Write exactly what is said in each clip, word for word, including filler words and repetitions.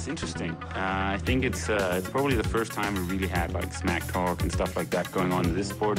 it's interesting. Uh, I think it's uh, it's probably the first time we really had like smack talk and stuff like that going on in this sport.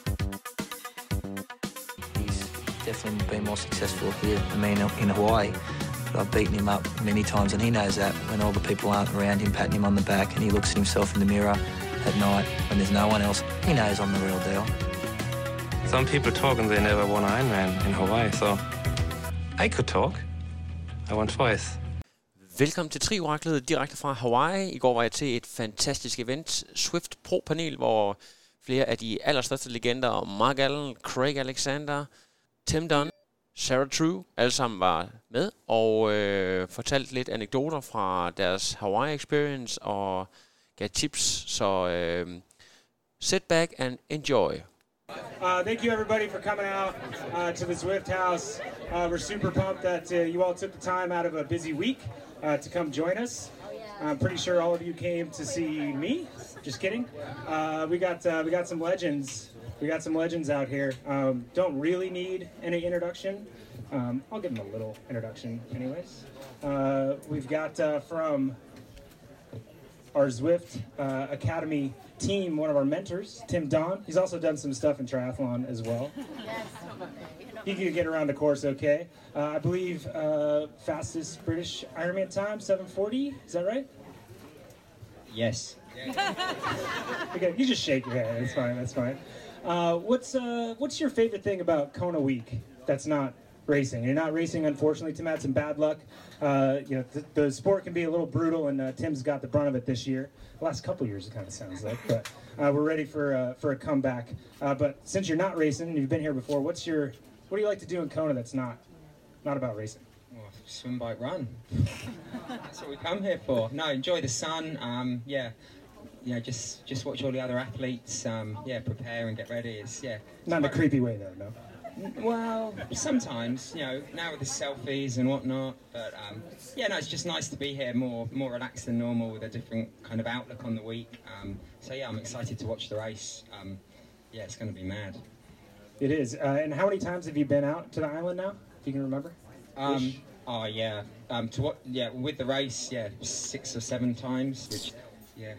He's definitely been more successful here than me in Hawaii. But I've beaten him up many times, and he knows that when all the people aren't around him patting him on the back and he looks at himself in the mirror at night when there's no one else, he knows I'm the real deal. Some people talk and they never won an Ironman in Hawaii, so I could talk. I won twice. Velkommen til Tri-oraklet direkte fra Hawaii. I går var jeg til et fantastisk event, Zwift Pro-panel, hvor flere af de allerstørste legender, Mark Allen, Craig Alexander, Tim Dunn, Sarah True, alle sammen var med og øh, fortalte lidt anekdoter fra deres Hawaii experience og gav tips, så øh, sit back and enjoy. Uh, thank you everybody for coming out uh, to the Zwift House. Uh, we're super pumped that uh, you all took the time out of a busy week uh, to come join us. I'm pretty sure all of you came to see me. Just kidding. Uh, we got uh, we got some legends. We got some legends out here. Um, don't really need any introduction. Um, I'll give them a little introduction anyways. Uh, we've got uh, from our Zwift uh, Academy team, one of our mentors, Tim Dunn. He's also done some stuff in triathlon as well. He can get around the course okay. Uh, I believe uh, fastest British Ironman time, seven forty. Is that right? Yes. Okay, you just shake your head. That's fine. That's fine. Uh, what's uh, what's your favorite thing about Kona Week that's not racing? You're not racing, unfortunately. Tim had some bad luck. Uh, you know, th- the sport can be a little brutal, and uh, Tim's got the brunt of it this year. The last couple years, it kind of sounds like, but uh, we're ready for uh, for a comeback. Uh, but since you're not racing and you've been here before, what's your what do you like to do in Kona that's not not about racing? Well, swim, bike, run. That's what we come here for. No, enjoy the sun. Um, yeah, you know, just just watch all the other athletes. Um, yeah, prepare and get ready. It's yeah. Not in a creepy way though, no. Well, sometimes, you know, now with the selfies and whatnot, but um, yeah, no, it's just nice to be here, more more relaxed than normal with a different kind of outlook on the week. Um, so yeah, I'm excited to watch the race. Um, yeah, it's going to be mad. It is. Uh, and how many times have you been out to the island now, if you can remember? Um, oh yeah, um, to what? Yeah, with the race, yeah, six or seven times. Which, yeah.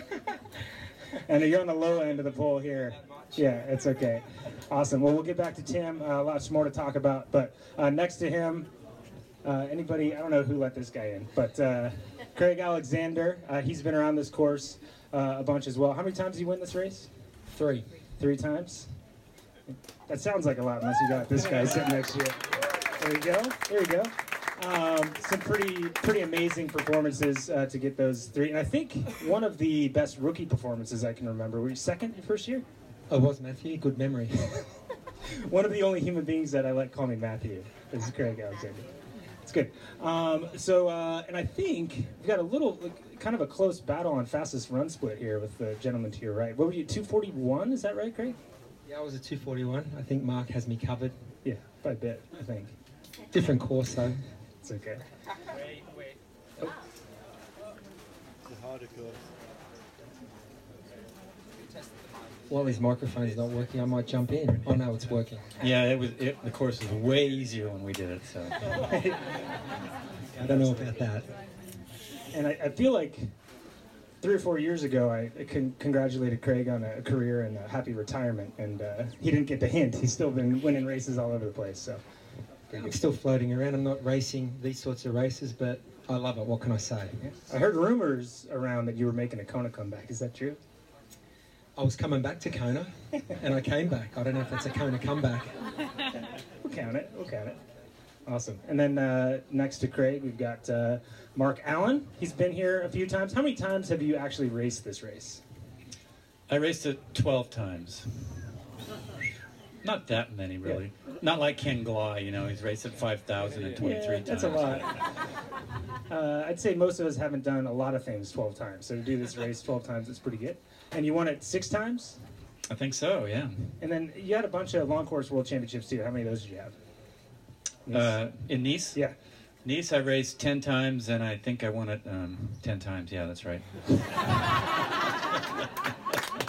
And you're on the low end of the poll here. Yeah, it's okay. Awesome. Well, we'll get back to Tim. Uh, lots more to talk about. But uh, next to him, uh, anybody, I don't know who let this guy in, but uh, Craig Alexander, uh, he's been around this course uh, a bunch as well. How many times did you win this race? Three. Three times? That sounds like a lot unless you got this guy sitting next to you. There you go. There you go. Um, some pretty pretty amazing performances uh, to get those three. And I think one of the best rookie performances I can remember. Were you second your first year? I was, Matthew. Good memory. One of the only human beings that I let call me Matthew is Craig Alexander. It's good. Um, so, uh, and I think we've got a little, like, kind of a close battle on fastest run split here with the gentleman to your right. What were you, two forty-one? Is that right, Craig? Yeah, I was a two forty-one. I think Mark has me covered. Yeah, by a bit, I think. Different course, though. It's okay. Wait, wait. Oh. It's a harder course. While his microphone's not working, I might jump in. Oh no, it's working. Yeah, it was. It, the course was way easier when we did it. So I don't know about that. And I, I feel like three or four years ago, I con- congratulated Craig on a career and a happy retirement, and uh, he didn't get the hint. He's still been winning races all over the place. So I'm still floating around. I'm not racing these sorts of races, but I love it. What can I say? Yeah. I heard rumors around that you were making a Kona comeback. Is that true? I was coming back to Kona, and I came back. I don't know if that's a Kona comeback. We'll count it. We'll count it. Awesome. And then uh, next to Craig, we've got uh, Mark Allen. He's been here a few times. How many times have you actually raced this race? I raced it twelve times. Not that many, really. Yeah. Not like Ken Glai, you know, he's raced it five thousand twenty-three yeah, times. That's a lot. uh, I'd say most of us haven't done a lot of things twelve times. So to do this race twelve times, it's pretty good. And you won it six times? I think so, yeah. And then you had a bunch of long course world championships too. How many of those did you have? Nice. Uh, in Nice? Yeah. Nice, I raced ten times, and I think I won it um, ten times. Yeah, that's right.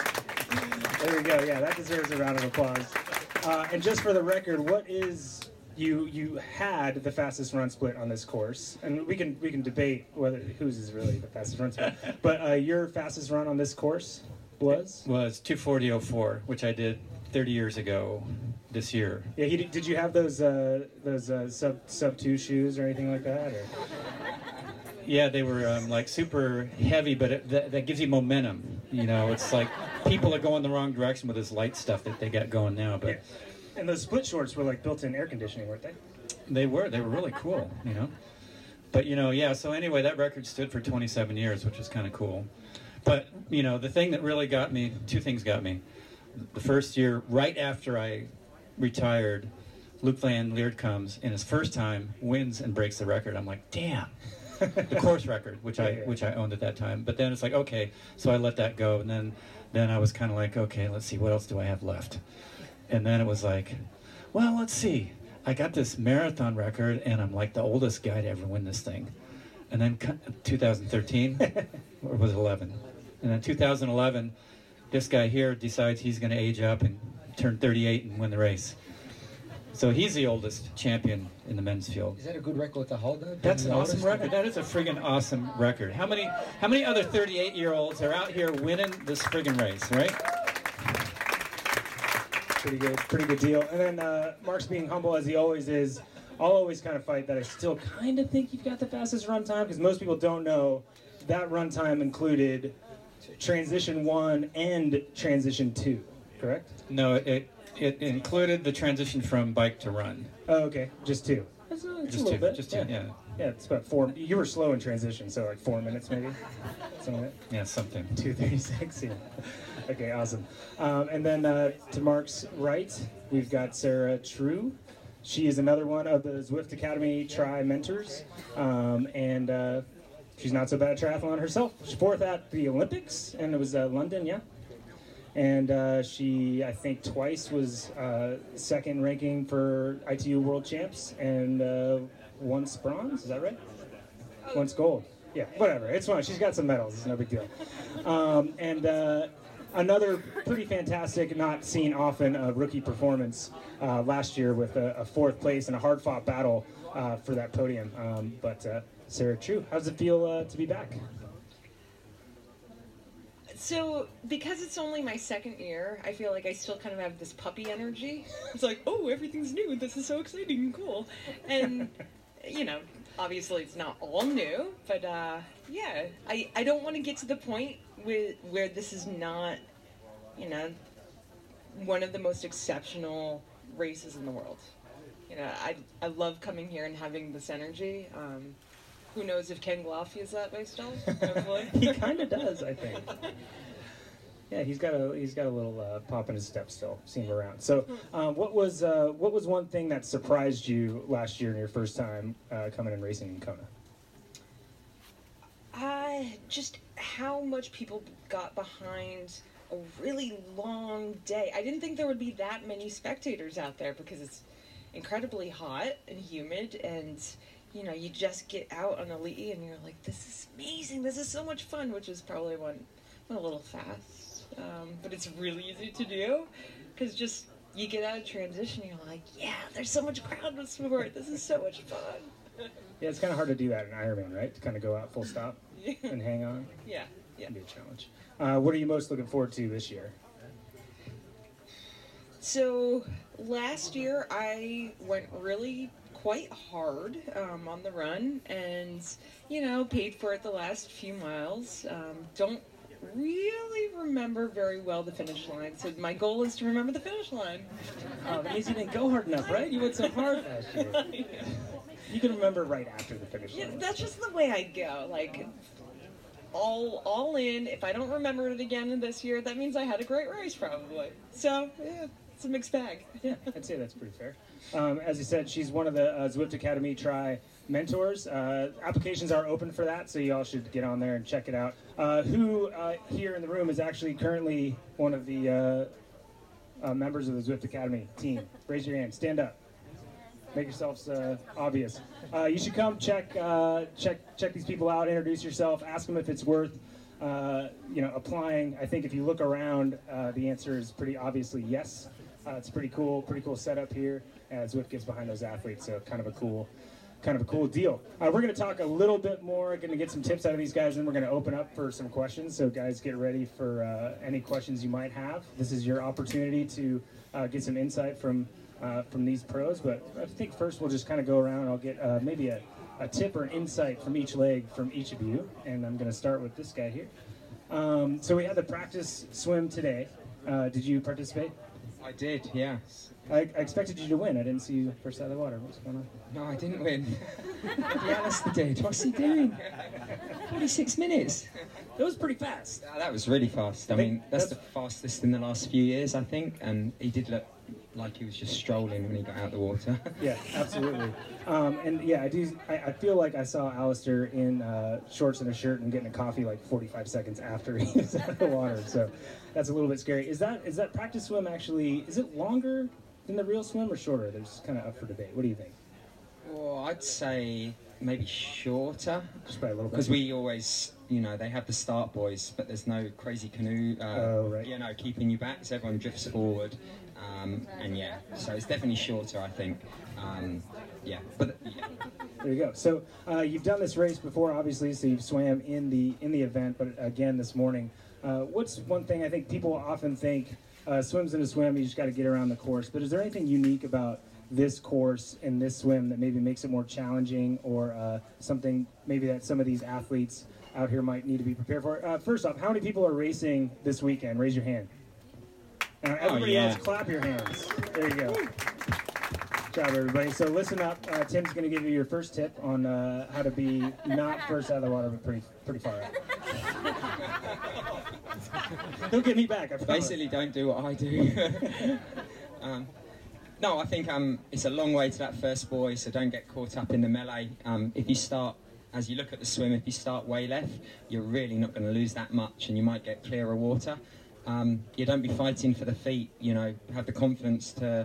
There we go. Yeah, that deserves a round of applause. Uh, and just for the record, what is you you had the fastest run split on this course, and we can we can debate whether whose is really the fastest run split. But uh, your fastest run on this course was was two forty oh four, which I did thirty years ago this year. Yeah, he, did you have those uh, those uh, sub sub two shoes or anything like that? Or? Yeah, they were um, like super heavy, but it, that, that gives you momentum. You know, it's like people are going the wrong direction with this light stuff that they got going now. But yeah. And those split shorts were like built-in air conditioning, weren't they? They were. They were really cool. You know, but you know, yeah. So anyway, that record stood for twenty-seven years, which was kind of cool. But you know, the thing that really got me, two things got me. The first year, right after I retired, Luke Van Lierde comes, and his first time wins and breaks the record. I'm like, damn. The course record, which I which I owned at that time. But then it's like, okay, so I let that go, and then then I was kind of like, okay, let's see, what else do I have left? And then it was like, well, let's see. I got this marathon record, and I'm like the oldest guy to ever win this thing. And then two thousand thirteen, or was it eleven? And then two thousand eleven, this guy here decides he's going to age up and turn thirty-eight and win the race. So he's the oldest champion in the men's field. Is that a good record to hold, though? That's an awesome record. That is a friggin' awesome record. How many how many other thirty-eight-year-olds are out here winning this friggin' race, right? Pretty good, pretty good deal. And then uh, Mark's being humble as he always is. I'll always kind of fight that I still kind of think you've got the fastest run time, because most people don't know that run time included transition one and transition two, correct? No, it it included the transition from bike to run. Oh, okay, just two. That's, uh, just a little two, bit. just two, yeah. yeah. Yeah, it's about four. You were slow in transition, so like four minutes maybe. Something like that. Yeah, something. two thirty-six. Yeah. Okay, awesome. Um, and then uh, to Mark's right, we've got Sarah True. She is another one of the Zwift Academy Tri mentors, um, and uh, she's not so bad at triathlon herself. She's fourth at the Olympics, and it was uh, London, yeah. And uh, she, I think, twice was uh, second ranking for I T U World Champs, and uh, once bronze. Is that right? Once gold. Yeah, whatever. It's fine. She's got some medals. It's no big deal. Um, and uh, another pretty fantastic, not seen often, uh, rookie performance uh, last year with a, a fourth place and a hard-fought battle uh, for that podium. Um, but uh, Sarah True, how does it feel uh, to be back? So, because it's only my second year, I feel like I still kind of have this puppy energy. It's like, oh, everything's new. This is so exciting and cool. And, you know, obviously it's not all new, but, uh, yeah, I, I don't want to get to the point with, where this is not, you know, one of the most exceptional races in the world. You know, I, I love coming here and having this energy. Um, Who knows if Ken Gloff feels that way still? Hopefully. He kind of does, I think. Yeah, he's got a he's got a little uh, pop in his step still. Seen him around. So, um, what was uh, what was one thing that surprised you last year in your first time uh, coming and racing in Kona? Uh, just how much people got behind a really long day. I didn't think there would be that many spectators out there because it's incredibly hot and humid, and you know, you just get out on a Ali'i and you're like, this is amazing, this is so much fun, which is probably one, one a little fast, um, but it's really easy to do, because just, you get out of transition, you're like, yeah, there's so much crowd with sport, this is so much fun. Yeah, it's kind of hard to do that in Ironman, right? To kind of go out full stop Yeah. and hang on. Yeah, yeah. It'd be a challenge. Uh, what are you most looking forward to this year? So, last year I went really quite hard um, on the run, and you know, paid for it the last few miles. Um, don't really remember very well the finish line, so my goal is to remember the finish line. Oh, that means you didn't go hard enough, right? You went so hard last year. You can remember right after the finish line. Yeah, that's just the way I go. Like all all in. If I don't remember it again this year, that means I had a great race probably. So yeah, it's a mixed bag. Yeah, I'd say that's pretty fair. Um, as you said, she's one of the uh, Zwift Academy Tri mentors. Uh, applications are open for that, so you all should get on there and check it out. Uh, who uh, here in the room is actually currently one of the uh, uh, members of the Zwift Academy team? Raise your hand. Stand up. Make yourselves uh, obvious. Uh, you should come check uh, check check these people out. Introduce yourself. Ask them if it's worth uh, you know applying. I think if you look around, uh, the answer is pretty obviously yes. Uh, it's pretty cool, pretty cool setup here as Zwift gets behind those athletes. So kind of a cool, kind of a cool deal. Uh, we're going to talk a little bit more, going to get some tips out of these guys, and we're going to open up for some questions. So guys, get ready for uh, any questions you might have. This is your opportunity to uh, get some insight from uh, from these pros. But I think first we'll just kind of go around and I'll get uh, maybe a, a tip or an insight from each leg from each of you. And I'm going to start with this guy here. Um, so we had the practice swim today. Uh, did you participate? I did, yeah. I, I expected you to win. I didn't see you first out of the water. What's going on? No, I didn't win. Yeah, Alistair did. What's he doing? forty-six minutes. It was pretty fast. Uh, that was really fast. I, I mean, that's, that's the fastest in the last few years, I think. And he did look like he was just strolling when he got out of the water. Yeah, absolutely. Um, and yeah, I do. I, I feel like I saw Alistair in uh, shorts and a shirt and getting a coffee like forty-five seconds after he was out of the water. So that's a little bit scary. Is that is that practice swim actually? Is it longer than the real swim or shorter? There's kind of up for debate. What do you think? Well, I'd say maybe shorter. Just by a little bit. Because we always, you know, they have the start buoys, but there's no crazy canoe, uh, oh, right. you know, keeping you back, so everyone drifts forward. Um, and yeah, so it's definitely shorter, I think. Um, yeah, but yeah. There you go. So uh, you've done this race before, obviously, so you've swam in the in the event, but again this morning. Uh, what's one thing I think people often think, uh, swims in a swim, you just got to get around the course, but is there anything unique about this course and this swim that maybe makes it more challenging, or uh, something maybe that some of these athletes out here might need to be prepared for? Uh, first off, how many people are racing this weekend? Raise your hand. Uh, everybody oh, yeah. else, clap your hands. There you go. Good job, everybody. So listen up. Uh, Tim's going to give you your first tip on uh, how to be not first out of the water, but pretty pretty far out. Don't get me back. I promise. Basically, don't do what I do. um, no, I think um, it's a long way to that first buoy, so don't get caught up in the melee. Um, if you start, as you look at the swim, if you start way left, you're really not going to lose that much, and you might get clearer water. Um, you don't be fighting for the feet, you know, have the confidence to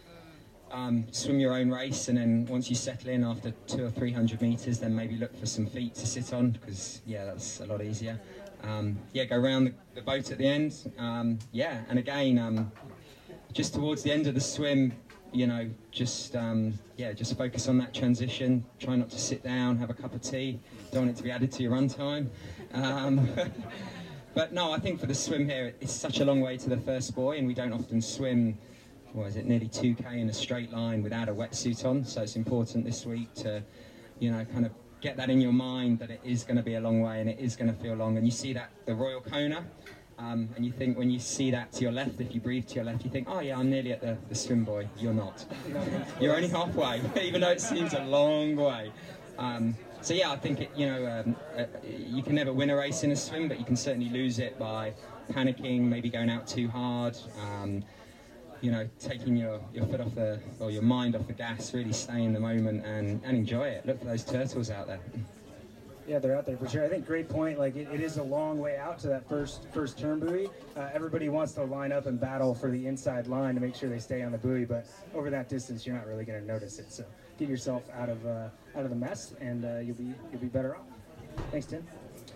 um, swim your own race, and then once you settle in after two or three hundred metres, then maybe look for some feet to sit on, because, yeah, that's a lot easier. Um, yeah, go around the, the boat at the end. Um, yeah, and again, um, just towards the end of the swim, you know, just, um, yeah, just focus on that transition. Try not to sit down, have a cup of tea. Don't want it to be added to your run time. Um, But no, I think for the swim here, it's such a long way to the first buoy, and we don't often swim, what is it, nearly two K in a straight line without a wetsuit on. So it's important this week to, you know, kind of get that in your mind that it is going to be a long way and it is going to feel long. And you see that, the Royal Kona, um, and you think when you see that to your left, if you breathe to your left, you think, oh yeah, I'm nearly at the, the swim buoy. You're not. You're only halfway, even though it seems a long way. Um, So yeah, I think it, you know um, uh, you can never win a race in a swim, but you can certainly lose it by panicking, maybe going out too hard, um, you know, taking your, your foot off the or your mind off the gas, really stay in the moment and, and enjoy it. Look for those turtles out there. Yeah, they're out there for sure. I think great point. Like it, it is a long way out to that first first turn buoy. Uh, everybody wants to line up and battle for the inside line to make sure they stay on the buoy, but over that distance, you're not really going to notice it. So get yourself out of uh, out of the mess, and uh, you'll be you'll be better off. Thanks, Tim.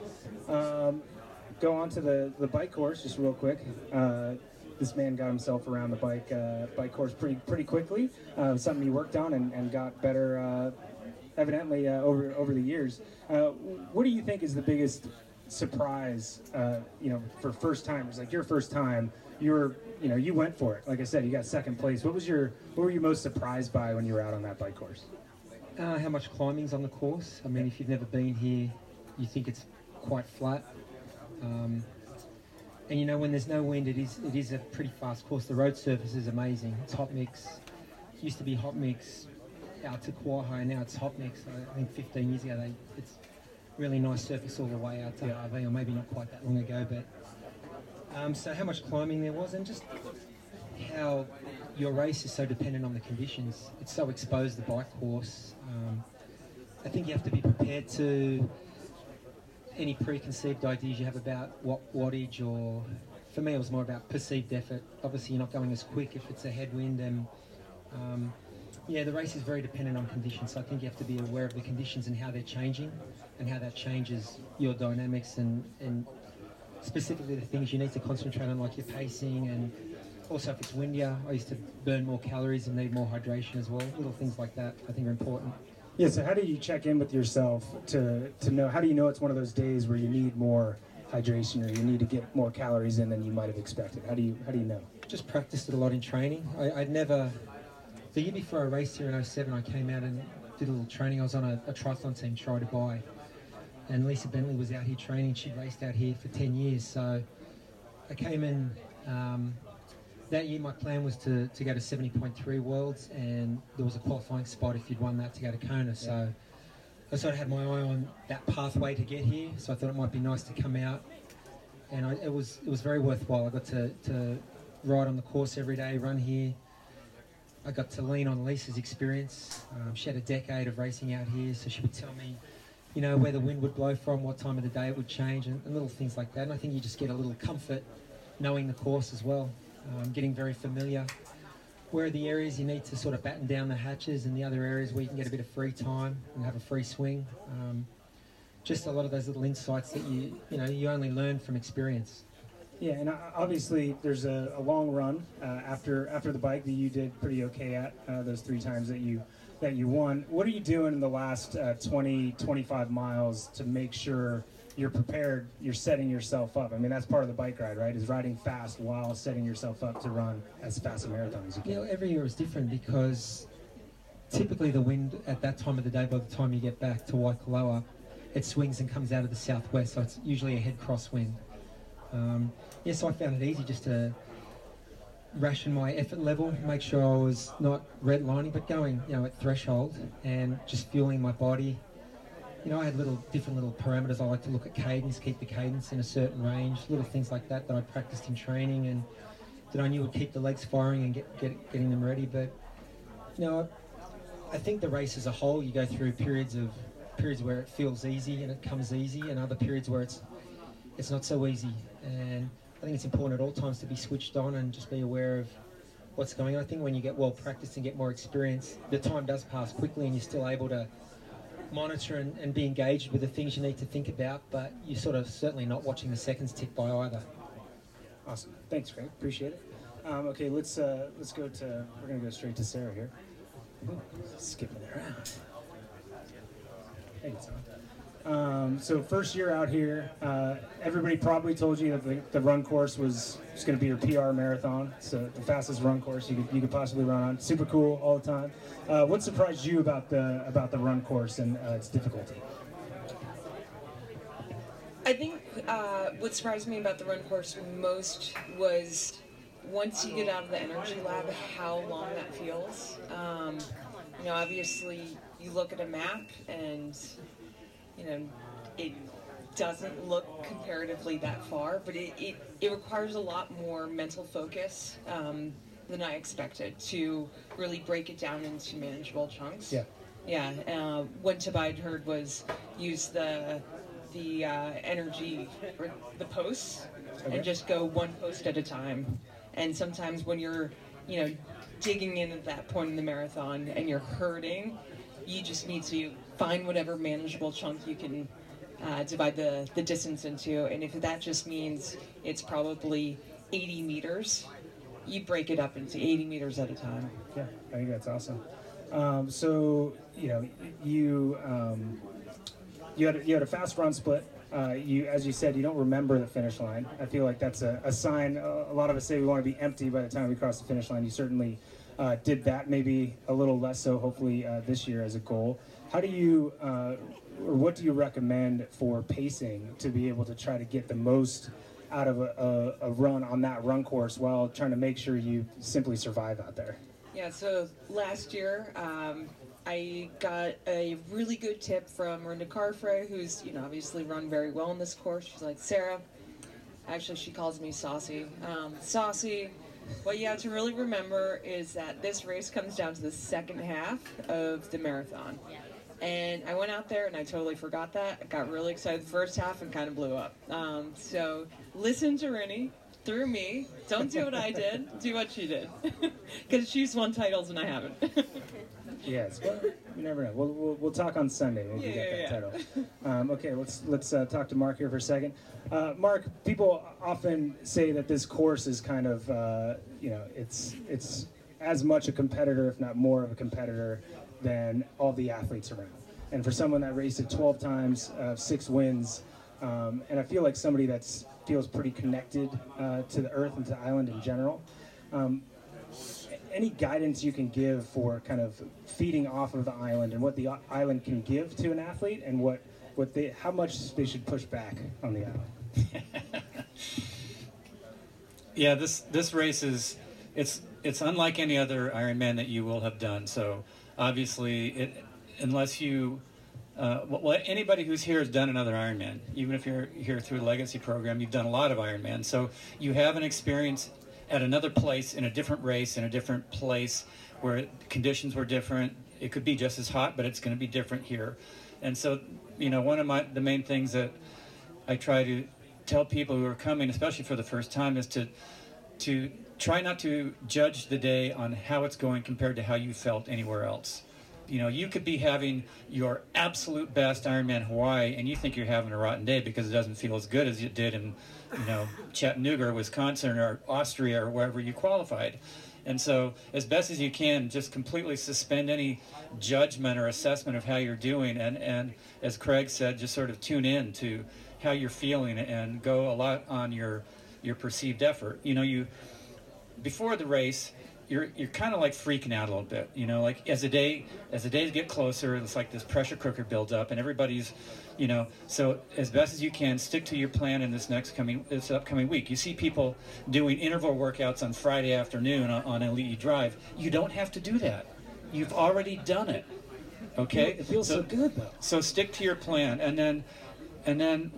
Um, go on to the the bike course just real quick. Uh, this man got himself around the bike uh, bike course pretty pretty quickly. Uh, something he worked on and, and got better. Uh, evidently uh, over over the years. Uh, what do you think is the biggest surprise, uh, you know, for first timers? Like your first time, you were, you know, you went for it. Like I said, you got second place. What was your, what were you most surprised by when you were out on that bike course? Uh, how much climbing's on the course. I mean, if you've never been here, you think it's quite flat. Um, and you know, when there's no wind, it is it is a pretty fast course. The road surface is amazing. It's hot mix. It used to be hot mix out to Quahai, and now it's hot mix. I think fifteen years ago, they, it's really nice surface all the way out to yeah. R V, or maybe not quite that long ago. But um, so how much climbing there was, and just how your race is so dependent on the conditions. It's so exposed, the bike course. Um, I think you have to be prepared to any preconceived ideas you have about what wattage, or for me it was more about perceived effort. Obviously you're not going as quick if it's a headwind, and um, yeah, the race is very dependent on conditions, so I think you have to be aware of the conditions and how they're changing and how that changes your dynamics, and, and specifically the things you need to concentrate on, like your pacing and Also, if it's windier, I used to burn more calories and need more hydration as well. Little things like that I think are important. Yeah, so how do you check in with yourself to, to know, how do you know it's one of those days where you need more hydration or you need to get more calories in than you might have expected? How do you, how do you know? Just practiced it a lot in training. I, I'd never, the year before I raced here in oh seven, I came out and did a little training. I was on a, a triathlon team, Try Dubai, and Lisa Bentley was out here training. She raced out here for ten years, so I came in, um, that year my plan was to, to go to seventy point three Worlds, and there was a qualifying spot if you'd won that to go to Kona. So I sort of had my eye on that pathway to get here, so I thought it might be nice to come out. And I, it was it was very worthwhile. I got to, to ride on the course every day, run here. I got to lean on Lisa's experience. Um, she had a decade of racing out here, so she would tell me, you know, where the wind would blow from, what time of the day it would change, and, and little things like that. And I think you just get a little comfort knowing the course as well. Um, getting very familiar. Where are the areas you need to sort of batten down the hatches, and the other areas where you can get a bit of free time and have a free swing. Um, just a lot of those little insights that you you know you only learn from experience. Yeah, and obviously there's a, a long run uh, after after the bike that you did pretty okay at uh, those three times that you that you won. What are you doing in the last uh, twenty, twenty-five miles to make sure you're prepared, you're setting yourself up? I mean, that's part of the bike ride, right? Is riding fast while setting yourself up to run as fast a marathon as you can. You know, every year is different because typically the wind at that time of the day, by the time you get back to Waikoloa, it swings and comes out of the southwest, so it's usually a head crosswind. Um, yeah, so I found it easy just to ration my effort level, make sure I was not redlining, but going, you know, at threshold and just fueling my body. You know, I had little different little parameters. I like to look at cadence, keep the cadence in a certain range, little things like that that I practiced in training and that I knew would keep the legs firing and get, get getting them ready. But, you know, I think the race as a whole, you go through periods of periods where it feels easy and it comes easy, and other periods where it's it's not so easy. And I think it's important at all times to be switched on and just be aware of what's going on. I think when you get well practiced and get more experience, the time does pass quickly and you're still able to monitor and, and be engaged with the things you need to think about, but you're sort of certainly not watching the seconds tick by either. Awesome. Thanks, Craig. Appreciate it. Um, okay, let's uh, let's go to, we're going to go straight to Sarah here. Ooh, skipping around. Hey, Tom. Um, so first year out here, uh, everybody probably told you that the, the run course was, was going to be your P R marathon. So the fastest run course you could you could possibly run on. Super cool all the time. Uh, what surprised you about the about the run course and uh, its difficulty? I think uh, what surprised me about the run course most was once you get out of the energy lab, how long that feels. Um, you know, obviously you look at a map and you know, it doesn't look comparatively that far, but it, it, it requires a lot more mental focus um, than I expected to really break it down into manageable chunks. Yeah. Yeah. Uh, what Tobias heard was use the the uh, energy or the posts okay. and just go one post at a time. And sometimes when you're, you know, digging in at that point in the marathon and you're hurting, you just need to find whatever manageable chunk you can uh, divide the, the distance into. And if that just means it's probably eighty meters, you break it up into eighty meters at a time. Yeah, I think that's awesome. Um, so, you know, you um, you had a, you had a fast run split. Uh, you, as you said, you don't remember the finish line. I feel like that's a, a sign. Uh, a lot of us say we want to be empty by the time we cross the finish line. You certainly uh, did that, maybe a little less so, hopefully, uh, this year as a goal. How do you, uh, or what do you recommend for pacing to be able to try to get the most out of a, a, a run on that run course while trying to make sure you simply survive out there? Yeah, so last year, um, I got a really good tip from Rinda Carfrey, who's, you know, obviously run very well in this course. She's like, Sarah, actually she calls me Saucy. Um, Saucy, what you have to really remember is that this race comes down to the second half of the marathon. And I went out there and I totally forgot that. I got really excited the first half and kind of blew up. Um, so listen to Rinny. Through me. Don't do what I did. Do what she did. Because she's won titles and I haven't. Yes, well, you never know. We'll, we'll, we'll talk on Sunday. Maybe Yeah, you get yeah, that yeah. title. Um, okay, let's let's uh, talk to Mark here for a second. Uh, Mark, people often say that this course is kind of, uh, you know, it's it's as much a competitor, if not more of a competitor, than all the athletes around. And for someone that raced it twelve times, uh, six wins, um, and I feel like somebody that feels pretty connected uh, to the earth and to the island in general. Um, any guidance you can give for kind of feeding off of the island and what the island can give to an athlete, and what, what they, how much they should push back on the island? Yeah, this this race is it's it's unlike any other Ironman that you will have done. So obviously, it, unless you uh, well, anybody who's here has done another Ironman. Even if you're here through the Legacy program, you've done a lot of Ironman. So you have an experience at another place, in a different race, in a different place where conditions were different. It could be just as hot, but it's going to be different here. And so, you know, one of my the main things that I try to tell people who are coming, especially for the first time, is to to try not to judge the day on how it's going compared to how you felt anywhere else. You know, you could be having your absolute best Ironman Hawaii, and you think you're having a rotten day because it doesn't feel as good as it did in, you know, Chattanooga or Wisconsin or Austria or wherever you qualified. And so, as best as you can, just completely suspend any judgment or assessment of how you're doing, and, and as Craig said, just sort of tune in to how you're feeling and go a lot on your your perceived effort. You know, you before the race, you're you're kind of like freaking out a little bit. You know, like as the day as the days get closer, it's like this pressure cooker builds up, and everybody's, you know. So as best as you can, stick to your plan in this next coming this upcoming week. You see people doing interval workouts on Friday afternoon on, on Elite Drive. You don't have to do that. You've already done it. Okay. It feels so, so good though. So stick to your plan, and then and then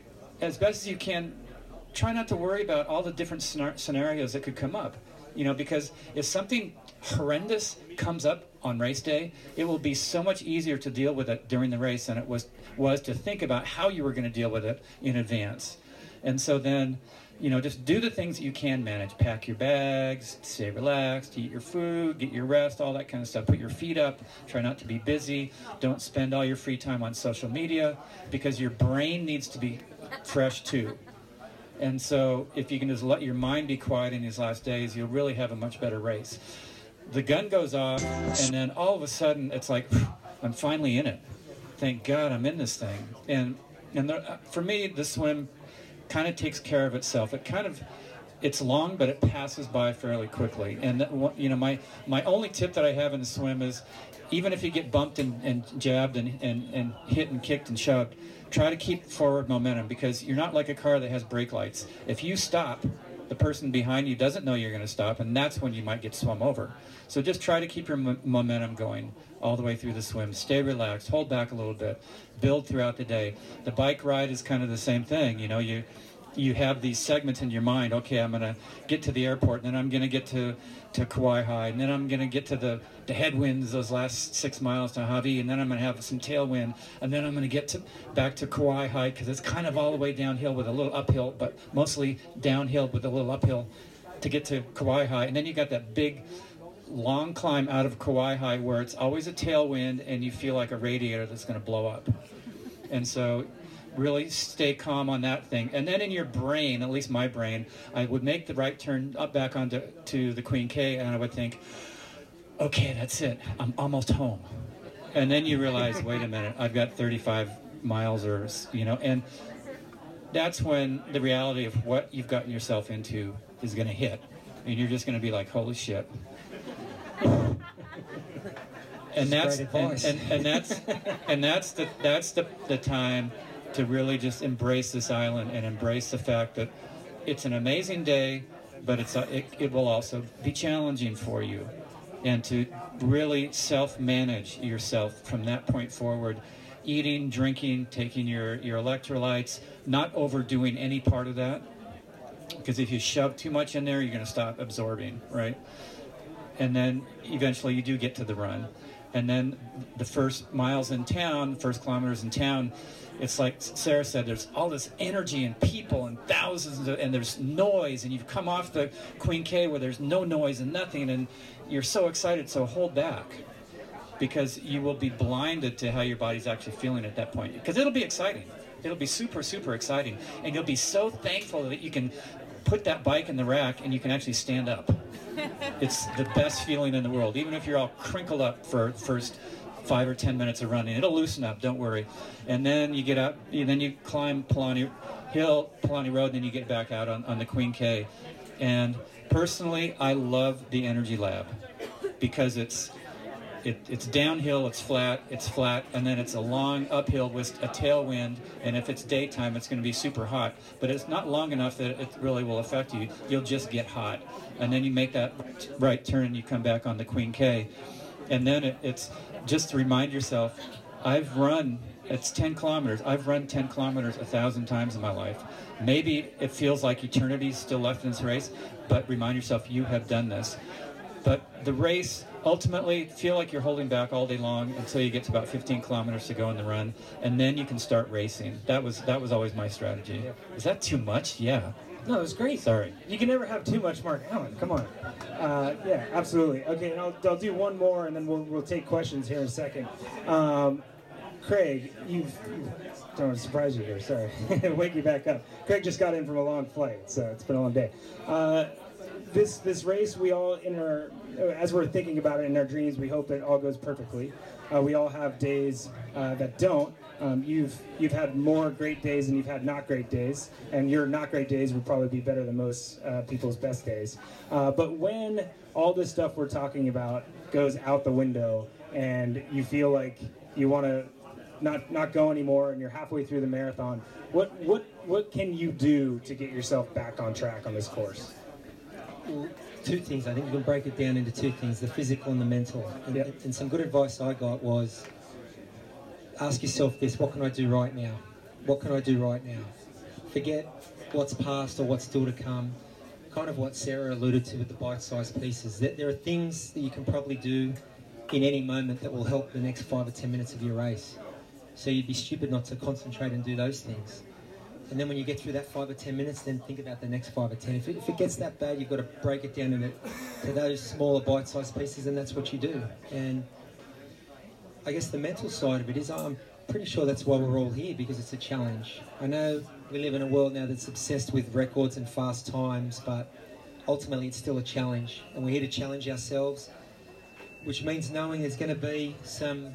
as best as you can, try not to worry about all the different scenarios that could come up. You know, because if something horrendous comes up on race day, it will be so much easier to deal with it during the race than it was was to think about how you were going to deal with it in advance. And so then, you know, just do the things that you can manage. Pack your bags, stay relaxed, eat your food, get your rest, all that kind of stuff. Put your feet up, try not to be busy. Don't spend all your free time on social media, because your brain needs to be fresh too. And so if you can just let your mind be quiet in these last days, you'll really have a much better race. The gun goes off, and then all of a sudden it's like, I'm finally in it. Thank God I'm in this thing. And and there, for me, the swim kind of takes care of itself. It kind of, it's long, but it passes by fairly quickly. And that, you know, my, my only tip that I have in the swim is, even if you get bumped and, and jabbed and, and, and hit and kicked and shoved, try to keep forward momentum, because you're not like a car that has brake lights. If you stop, the person behind you doesn't know you're going to stop, and that's when you might get swum over. So just try to keep your mo- momentum going all the way through the swim. Stay relaxed, hold back a little bit, build throughout the day. The bike ride is kind of the same thing. You know, you you have these segments in your mind. Okay, I'm going to get to the airport, and then I'm going to get to, to Kauai High, and then I'm going to get to the, the headwinds, those last six miles to Hawaii, and then I'm going to have some tailwind, and then I'm going to get to back to Kauai High, because it's kind of all the way downhill with a little uphill, but mostly downhill with a little uphill to get to Kauai High. And then you got that big, long climb out of Kauai High where it's always a tailwind, and you feel like a radiator that's going to blow up. And so really stay calm on that thing. And then in your brain, at least my brain, I would make the right turn up back onto to the Queen K, and I would think, okay, that's it. I'm almost home. And then you realize, wait a minute, I've got thirty-five miles, or, you know, and that's when the reality of what you've gotten yourself into is going to hit. And you're just going to be like, holy shit. And that's and, and, and that's and that's the that's the, the time to really just embrace this island and embrace the fact that it's an amazing day, but it's a, it, it will also be challenging for you, and to really self-manage yourself from that point forward. Eating, drinking, taking your, your electrolytes, not overdoing any part of that, because if you shove too much in there, you're going to stop absorbing, right? And then eventually you do get to the run. And then the first miles in town, first kilometers in town, it's like Sarah said, there's all this energy and people and thousands of, and there's noise, and you've come off the Queen K where there's no noise and nothing, and you're so excited, so hold back. because you will be blinded to how your body's actually feeling at that point. Because it'll be exciting. It'll be super, super exciting. And you'll be so thankful that you can put that bike in the rack and you can actually stand up. It's the best feeling in the world, even if you're all crinkled up for the first five or ten minutes of running. It'll loosen up, don't worry. And then you get out, and then you climb Palani Hill, Palani Road, and then you get back out on, on the Queen K. And personally, I love the Energy Lab because it's It, it's downhill, it's flat, it's flat, and then it's a long uphill with a tailwind, and if it's daytime, it's going to be super hot. But it's not long enough that it really will affect you. You'll just get hot. And then you make that right turn, and you come back on the Queen K. And then it, it's just to remind yourself, I've run, it's ten kilometers. I've run ten kilometers a thousand times in my life. Maybe it feels like eternity's still left in this race, but remind yourself you have done this. But the race, ultimately, feel like you're holding back all day long until you get to about fifteen kilometers to go in the run, and then you can start racing. That was that was always my strategy. Is that too much? Yeah. No, it was great. Sorry. You can never have too much Mark Allen. Come on. Uh, yeah, absolutely. Okay, and I'll, I'll do one more, and then we'll, we'll take questions here in a second. Um, Craig, you've... don't want to surprise you here, sorry. Wake you back up. Craig just got in from a long flight, so it's been a long day. Uh, this this race, we all, in our, as we're thinking about it in our dreams, we hope it all goes perfectly. Uh, we all have days uh, that don't. Um, you've you've had more great days than you've had not great days, and your not great days would probably be better than most uh, people's best days. Uh, but when all this stuff we're talking about goes out the window, and you feel like you want to not not go anymore, and you're halfway through the marathon, what what what can you do to get yourself back on track on this course? Well, two things. I think we can break it down into two things: the physical and the mental. And, yep. and some good advice I got was, ask yourself this: what can I do right now? What can I do right now? Forget what's past or what's still to come. Kind of what Sarah alluded to with the bite-sized pieces. That there are things that you can probably do in any moment that will help the next five or ten minutes of your race. So you'd be stupid not to concentrate and do those things. And then when you get through that five or ten minutes, then think about the next five or ten. If it, if it gets that bad, you've got to break it down into to those smaller bite-sized pieces, and that's what you do. And I guess the mental side of it is, I'm pretty sure that's why we're all here, because it's a challenge. I know we live in a world now that's obsessed with records and fast times, but ultimately it's still a challenge. And we're here to challenge ourselves, which means knowing there's going to be some...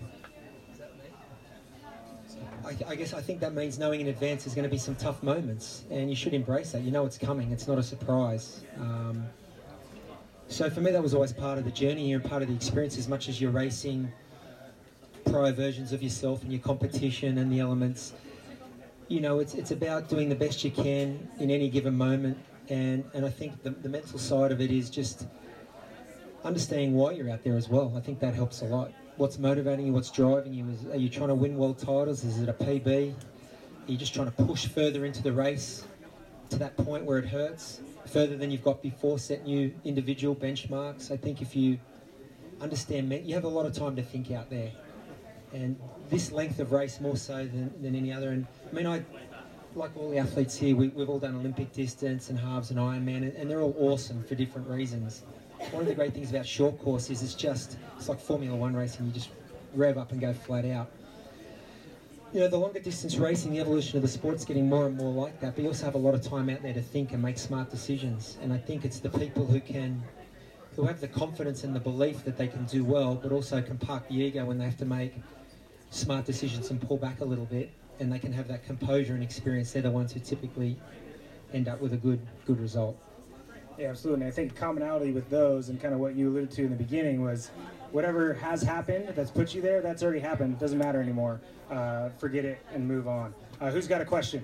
I, I guess I think that means knowing in advance there's going to be some tough moments, and you should embrace that. You know it's coming. It's not a surprise. Um, so for me, that was always part of the journey here and part of the experience, as much as you're racing prior versions of yourself and your competition and the elements. You know, it's it's about doing the best you can in any given moment, and, and I think the, the mental side of it is just understanding why you're out there as well. I think that helps a lot. What's motivating you, what's driving you? Is, are you trying to win world titles? Is it a P B? Are you just trying to push further into the race to that point where it hurts, further than you've got before, set new individual benchmarks? I think if you understand, you have a lot of time to think out there. And this length of race more so than, than any other. And I mean, I, like all the athletes here, we, we've all done Olympic distance and halves and Ironman, and, and they're all awesome for different reasons. One of the great things about short course is it's just, it's like Formula One racing. You just rev up and go flat out. You know, the longer distance racing, the evolution of the sport's getting more and more like that, but you also have a lot of time out there to think and make smart decisions. And I think it's the people who can, who have the confidence and the belief that they can do well, but also can park the ego when they have to make smart decisions and pull back a little bit, and they can have that composure and experience. They're the ones who typically end up with a good, good result. Yeah, absolutely. And I think commonality with those, and kind of what you alluded to in the beginning, was whatever has happened that's put you there, that's already happened. It doesn't matter anymore. Uh, forget it and move on. Uh, who's got a question?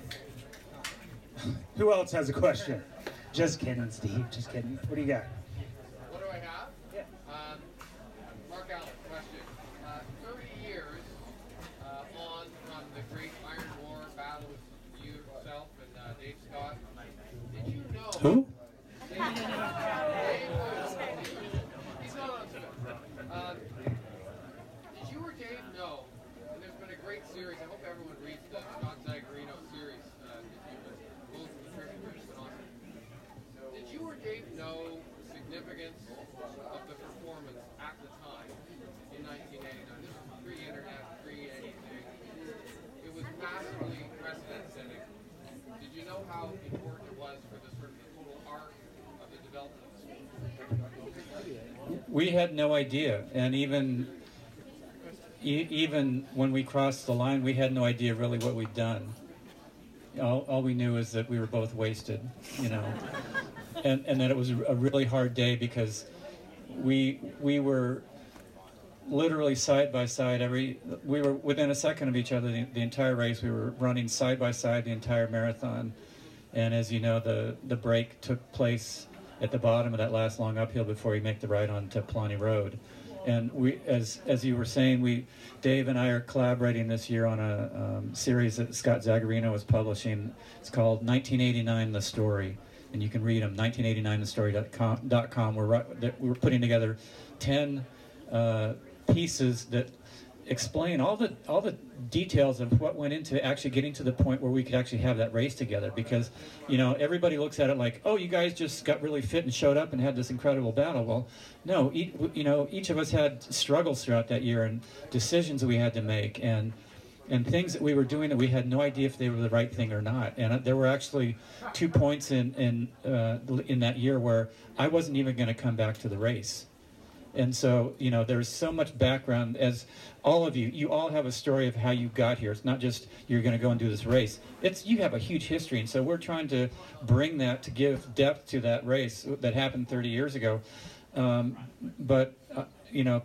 Who else has a question? Just kidding, Steve. Just kidding. What do you got? What do I have? Yeah. Um, Mark Allen, question. Uh, thirty years uh, on from the Great Iron War battle with you, yourself, and uh, Dave Scott. Did you know... Who? Dave, Dave was, he's not on to it. Um, did you or Dave know, and there's been a great series, I hope everyone reads the Scott Zagarino series, uh, if you both of the tribute has been awesome. Did you or Dave know we had no idea, and even e- even when we crossed the line, we had no idea really what we'd done. All, all we knew is that we were both wasted, you know, and and that it was a really hard day because we we were literally side by side. Every we were within a second of each other the, the entire race. We were running side by side the entire marathon, and as you know, the the break took place at the bottom of that last long uphill before you make the ride onto Paulani Road. And we, as as you were saying, we, Dave and I are collaborating this year on a um, series that Scott Zagarino is publishing. It's called nineteen eighty-nine The Story, and you can read them, nineteen eighty-nine the story dot com. We're, we're putting together ten uh, pieces that explain all the all the details of what went into actually getting to the point where we could actually have that race together. Because, you know, everybody looks at it like, oh, you guys just got really fit and showed up and had this incredible battle. Well, no, e- you know, each of us had struggles throughout that year and decisions that we had to make and and things that we were doing that we had no idea if they were the right thing or not. And there were actually two points in in uh, in that year where I wasn't even going to come back to the race. And so, you know, there's so much background, as all of you, you all have a story of how you got here. It's not just you're going to go and do this race. It's you have a huge history, and so we're trying to bring that to give depth to that race that happened thirty years ago. Um, but, uh, you know,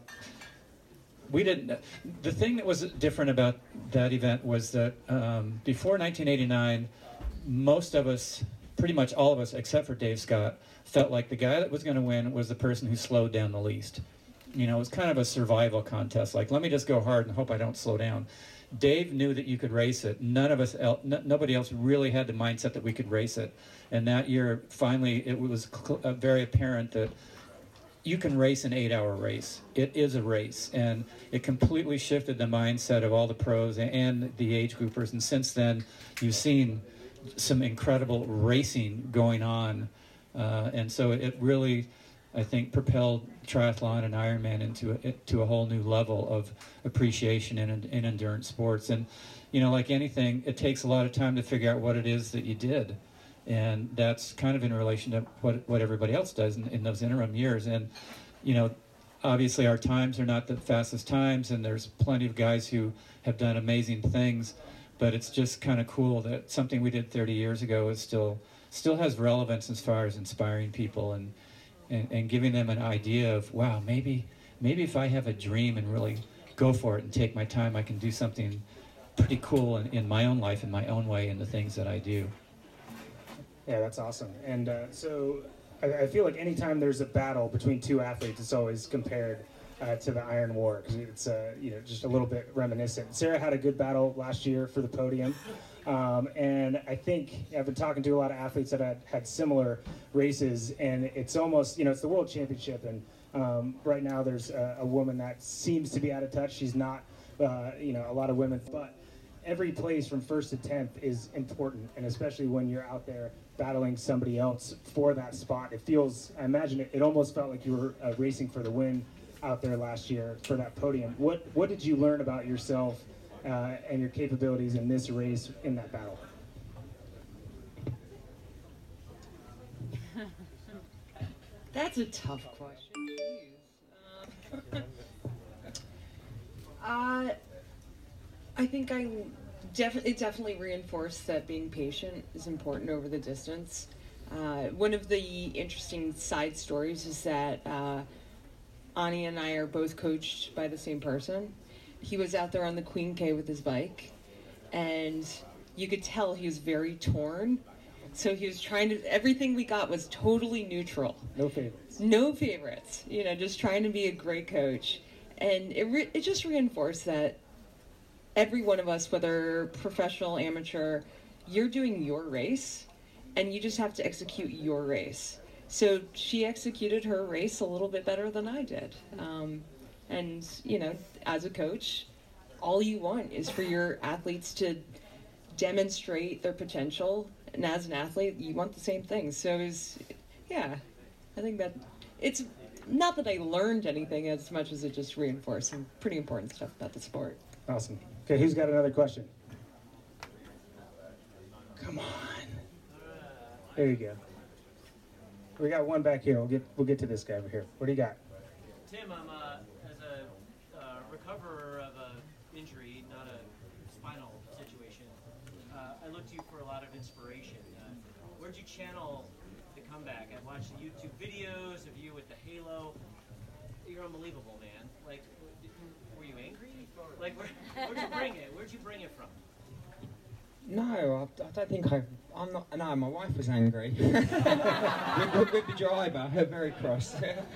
we didn't, the thing that was different about that event was that um, before nineteen eighty-nine, most of us, pretty much all of us, except for Dave Scott, felt like the guy that was going to win was the person who slowed down the least. You know, it was kind of a survival contest. Like, let me just go hard and hope I don't slow down. Dave knew that you could race it. None of us, el- n- nobody else really had the mindset that we could race it. And that year, finally, it was cl- uh, very apparent that you can race an eight-hour race. It is a race. And it completely shifted the mindset of all the pros and the age groupers. And since then, you've seen some incredible racing going on. Uh, and so it really, I think, propelled triathlon and Ironman into a, to a whole new level of appreciation in, in endurance sports. And, you know, like anything, it takes a lot of time to figure out what it is that you did. And that's kind of in relation to what, what everybody else does in, in those interim years. And, you know, obviously our times are not the fastest times, and there's plenty of guys who have done amazing things. But it's just kind of cool that something we did thirty years ago is still still has relevance as far as inspiring people and, and, and giving them an idea of, wow, maybe maybe if I have a dream and really go for it and take my time, I can do something pretty cool in, in my own life, in my own way, in the things that I do. Yeah, that's awesome. And uh, so I, I feel like anytime there's a battle between two athletes, it's always compared uh, to the Iron War, because it's uh, you know, just a little bit reminiscent. Sarah had a good battle last year for the podium. Um, and I think I've been talking to a lot of athletes that had, had similar races, and it's almost, you know, it's the World Championship, and um, right now there's a, a woman that seems to be out of touch. She's not, uh, you know, a lot of women, but every place from first to tenth is important, and especially when you're out there battling somebody else for that spot. It feels, I imagine it, it almost felt like you were uh, racing for the win out there last year for that podium. What, what did you learn about yourself Uh, and your capabilities in this race, in that battle? That's a tough question. Uh, uh, I think I def- it definitely reinforced that being patient is important over the distance. Uh, one of the interesting side stories is that uh, Ani and I are both coached by the same person. He was out there on the Queen K with his bike, and you could tell he was very torn. So he was trying to, everything we got was totally neutral. No favorites. No favorites. You know, just trying to be a great coach. And it re- it just reinforced that every one of us, whether professional, amateur, you're doing your race, and you just have to execute your race. So she executed her race a little bit better than I did. Um, And, you know, as a coach, all you want is for your athletes to demonstrate their potential. And as an athlete, you want the same thing. So, it was, yeah, I think that it's not that I learned anything as much as it just reinforced some pretty important stuff about the sport. Awesome. Okay, who's got another question? Come on. There you go. We got one back here. We'll get we'll get to this guy over here. What do you got? Tim, I'm uh, as a uh, recoverer of a injury, not a spinal situation. Uh, I look to you for a lot of inspiration. Uh, where'd you channel the comeback? I watched the YouTube videos of you with the halo. You're unbelievable, man. Like, were you angry? Like, where, where'd you bring it? Where'd you bring it from? No, I, I don't think I. I'm not. No, my wife was angry with, with, with the driver. Her very cross.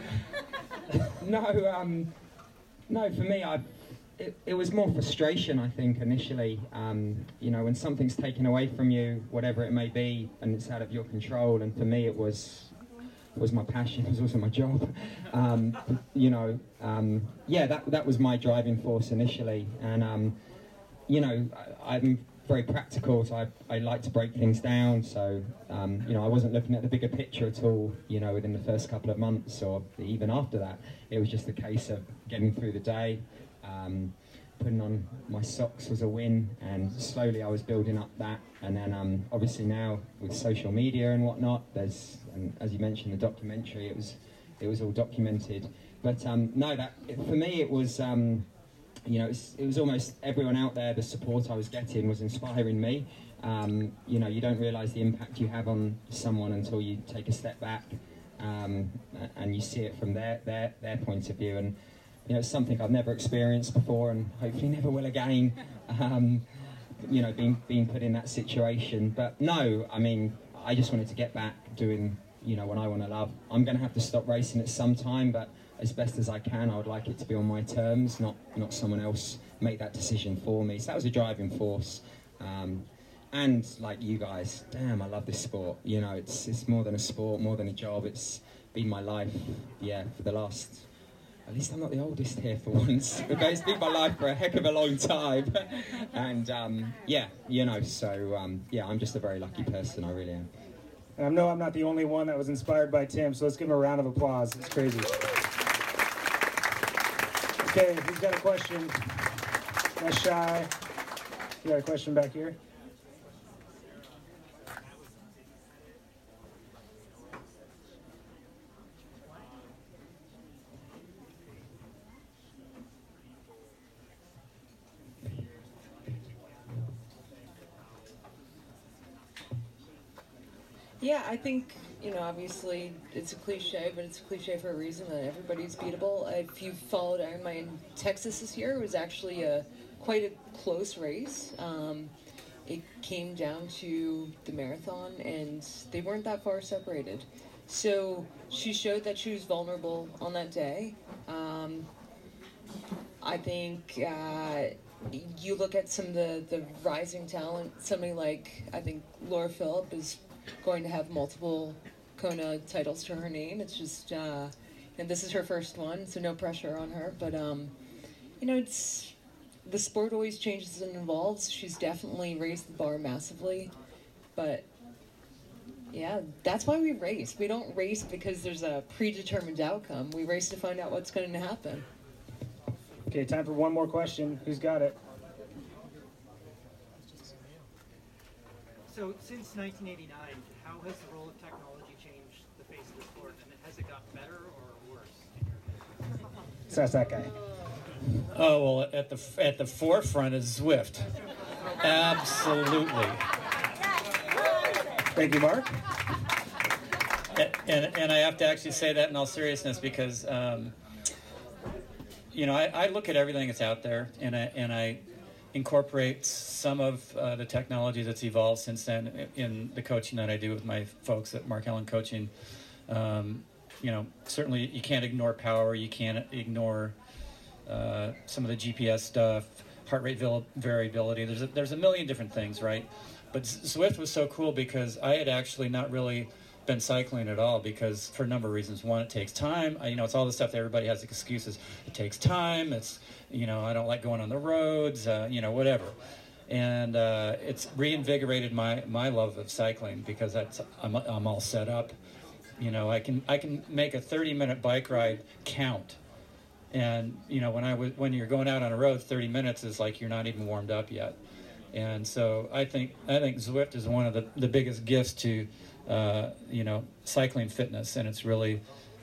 no, um, no. For me, I. It, it was more frustration, I think, initially. Um, you know, when something's taken away from you, whatever it may be, and it's out of your control. And for me, it was. was my passion. It was also my job. Um, you know, um, yeah, that that was my driving force initially. And um, you know, I, I'm. very practical, so I, I like to break things down, so um, you know, I wasn't looking at the bigger picture at all, you know, within the first couple of months or even after that. It was just a case of getting through the day, um, putting on my socks was a win, and slowly I was building up that, and then um, obviously now with social media and whatnot, there's, and as you mentioned, the documentary, it was it was all documented, but um, no, that for me it was um, you know, it was, it was almost everyone out there, the support I was getting was inspiring me. Um, you know, you don't realise the impact you have on someone until you take a step back um, and you see it from their, their, their point of view. And, you know, it's something I've never experienced before and hopefully never will again, um, you know, being, being put in that situation. But no, I mean, I just wanted to get back doing, you know, what I want to love. I'm going to have to stop racing at some time, but as best as I can, I would like it to be on my terms, not not someone else make that decision for me. So that was a driving force. Um, and like you guys, damn, I love this sport. You know, it's it's more than a sport, more than a job. It's been my life, yeah, for the last, at least I'm not the oldest here for once, but it's been my life for a heck of a long time. And um, yeah, you know, so um, yeah, I'm just a very lucky person, I really am. And I know I'm not the only one that was inspired by Tim, so let's give him a round of applause. It's crazy. Okay, who's got a question? That's Shy. You got a question back here? Yeah, I think, you know, obviously it's a cliche, but it's a cliche for a reason that everybody's beatable. If you followed Ironman in Texas this year, it was actually a quite a close race. Um, it came down to the marathon, and they weren't that far separated. So she showed that she was vulnerable on that day. Um, I think uh, you look at some of the, the rising talent, somebody like, I think Laura Philipp is going to have multiple Kona titles to her name. It's just, uh, and this is her first one, so no pressure on her. But, um, you know, it's, the sport always changes and evolves. She's definitely raised the bar massively. But, yeah, that's why we race. We don't race because there's a predetermined outcome. We race to find out what's going to happen. Okay, time for one more question. Who's got it? So, since nineteen eighty-nine, how has the role of technology changed the face of the sport? And has it gotten better or worse? So that's that guy. Oh, well, at the at the forefront is Zwift. Absolutely. Thank you, Mark. And, and, and I have to actually say that in all seriousness because, um, you know, I, I look at everything that's out there, and I, and I incorporate some of uh, the technology that's evolved since then in the coaching that I do with my folks at Mark Allen Coaching. Um, you know, certainly you can't ignore power. You can't ignore uh, some of the G P S stuff, heart rate variability. There's a, there's a million different things, right? But Zwift was so cool because I had actually not really been cycling at all because for a number of reasons. One, it takes time. I, you know, it's all the stuff that everybody has excuses. It takes time. It's, you know, I don't like going on the roads, uh, you know, whatever. And uh, it's reinvigorated my, my love of cycling because that's, I'm, I'm all set up. You know, I can I can make a thirty minute bike ride count. And, you know, when I was, when you're going out on a road, thirty minutes is like you're not even warmed up yet. And so I think I think Zwift is one of the, the biggest gifts to, uh, you know, cycling fitness. And it's really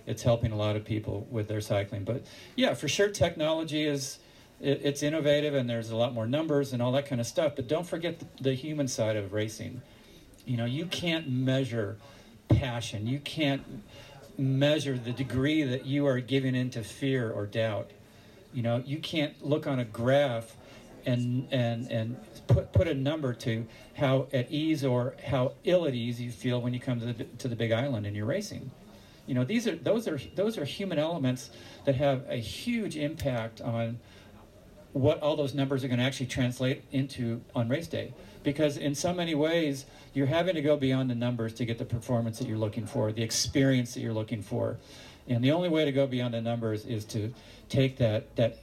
it's helping a lot of people with their cycling. But yeah, for sure, technology is it, it's innovative, and there's a lot more numbers and all that kind of stuff. But don't forget the, the human side of racing. You know, you can't measure passion. You can't measure the degree that you are giving into fear or doubt. You know, you can't look on a graph and and and put put a number to how at ease or how ill at ease you feel when you come to the to the Big Island and you're racing. You know, these are those are those are human elements that have a huge impact on what all those numbers are going to actually translate into on race day. Because in so many ways, you're having to go beyond the numbers to get the performance that you're looking for, the experience that you're looking for. And the only way to go beyond the numbers is to take that that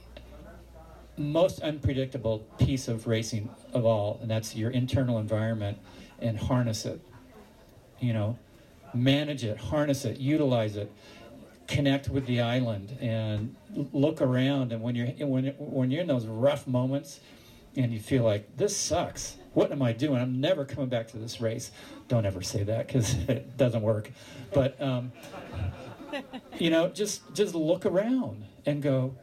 most unpredictable piece of racing of all, and that's your internal environment, and harness it. You know, manage it, harness it, utilize it, connect with the island, and look around. And when you're when when you're in those rough moments, and you feel like this sucks, what am I doing? I'm never coming back to this race. Don't ever say that, because it doesn't work. But um, you know, just just look around and go,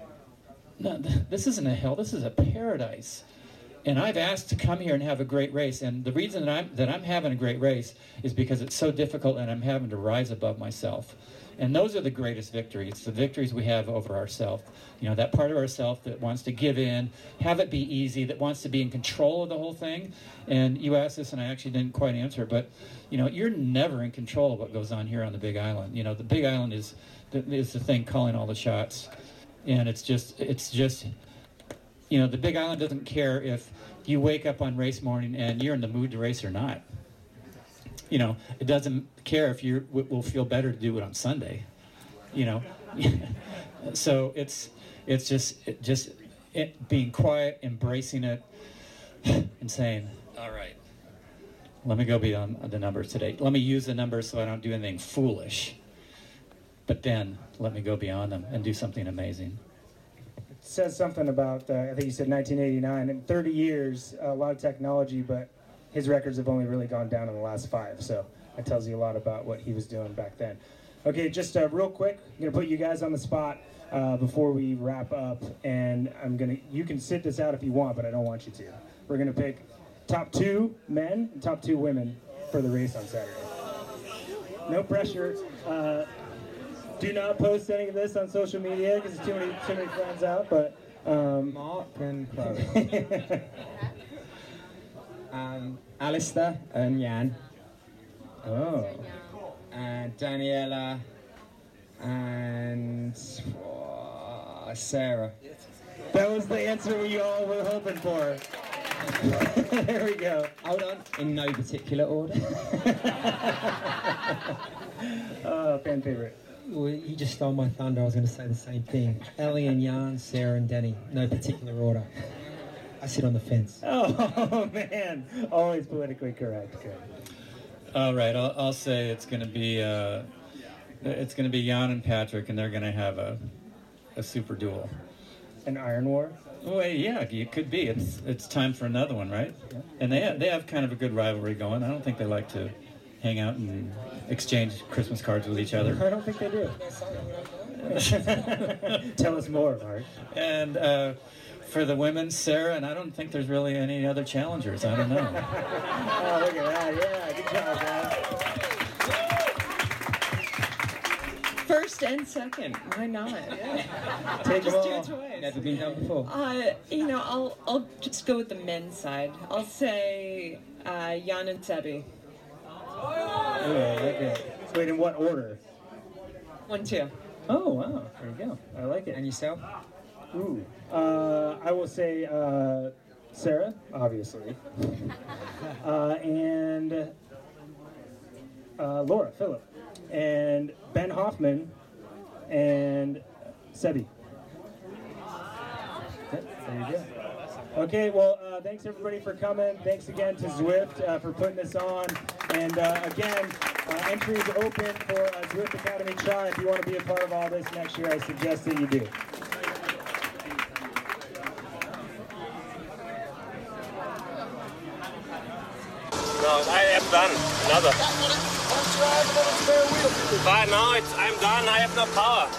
no, this isn't a hell. This is a paradise. And I've asked to come here and have a great race. And the reason that I'm that I'm having a great race is because it's so difficult, and I'm having to rise above myself. And those are the greatest victories, the victories we have over ourselves. You know, that part of ourselves that wants to give in, have it be easy, that wants to be in control of the whole thing. And you asked this, and I actually didn't quite answer, but, you know, you're never in control of what goes on here on the Big Island. You know, the Big Island is the, is the thing calling all the shots. And it's just, it's just, you know, the Big Island doesn't care if you wake up on race morning and you're in the mood to race or not. You know, it doesn't care if you will feel better to do it on Sunday. You know, so it's it's just it just it, being quiet, embracing it, and saying, "All right, let me go beyond the numbers today. Let me use the numbers so I don't do anything foolish. But then let me go beyond them and do something amazing." It says something about uh, I think you said nineteen eighty-nine. In thirty years, a lot of technology, but his records have only really gone down in the last five, so that tells you a lot about what he was doing back then. Okay, just uh, real quick, I'm gonna put you guys on the spot uh, before we wrap up, and I'm gonna. You can sit this out if you want, but I don't want you to. We're gonna pick top two men and top two women for the race on Saturday. No pressure. Uh, do not post any of this on social media because there's too many too many friends out. But um, Mark and Chloe. Um, Alistair and Jan. Oh. And Daniela and oh, Sarah. That was the answer we all were hoping for. There we go. Hold on. In no particular order. Oh, fan favorite. Well, you just stole my thunder. I was going to say the same thing. Ellie and Jan, Sarah and Danny. No particular order. I sit on the fence. Oh, man. Always politically correct. Good. All right, I'll, I'll say it's going to be uh, it's going to be Jan and Patrick, and they're going to have a a super duel. An Iron War? Well, yeah, it could be. It's it's time for another one, right? Yeah. And they have, they have kind of a good rivalry going. I don't think they like to hang out and exchange Christmas cards with each other. I don't think they do. Tell us more, Mark. And uh, for the women, Sarah, and I don't think there's really any other challengers. I don't know. Oh, look at that. Yeah, good job, guys. First and second. Why not? Yeah. Take them Just do all. it twice. Never been done before. Uh, you know, I'll I'll just go with the men's side. I'll say uh, Jan and Sebi. Oh, okay. So wait, in what order? One, two. Oh, wow. There you go. I like it. And yourself? Ooh. Uh, I will say uh, Sarah, obviously. uh, and uh, Laura, Phillip. And Ben Hoffman. And Sebi. Yep, there you go. Okay, well, uh, thanks everybody for coming. Thanks again to Zwift uh, for putting this on. And uh, again, uh, entry is open for uh, Zwift Academy Tri. If you want to be a part of all this next year, I suggest that you do. No, I have done another. drive a little spare wheel. But now it's, I'm done. I have no power.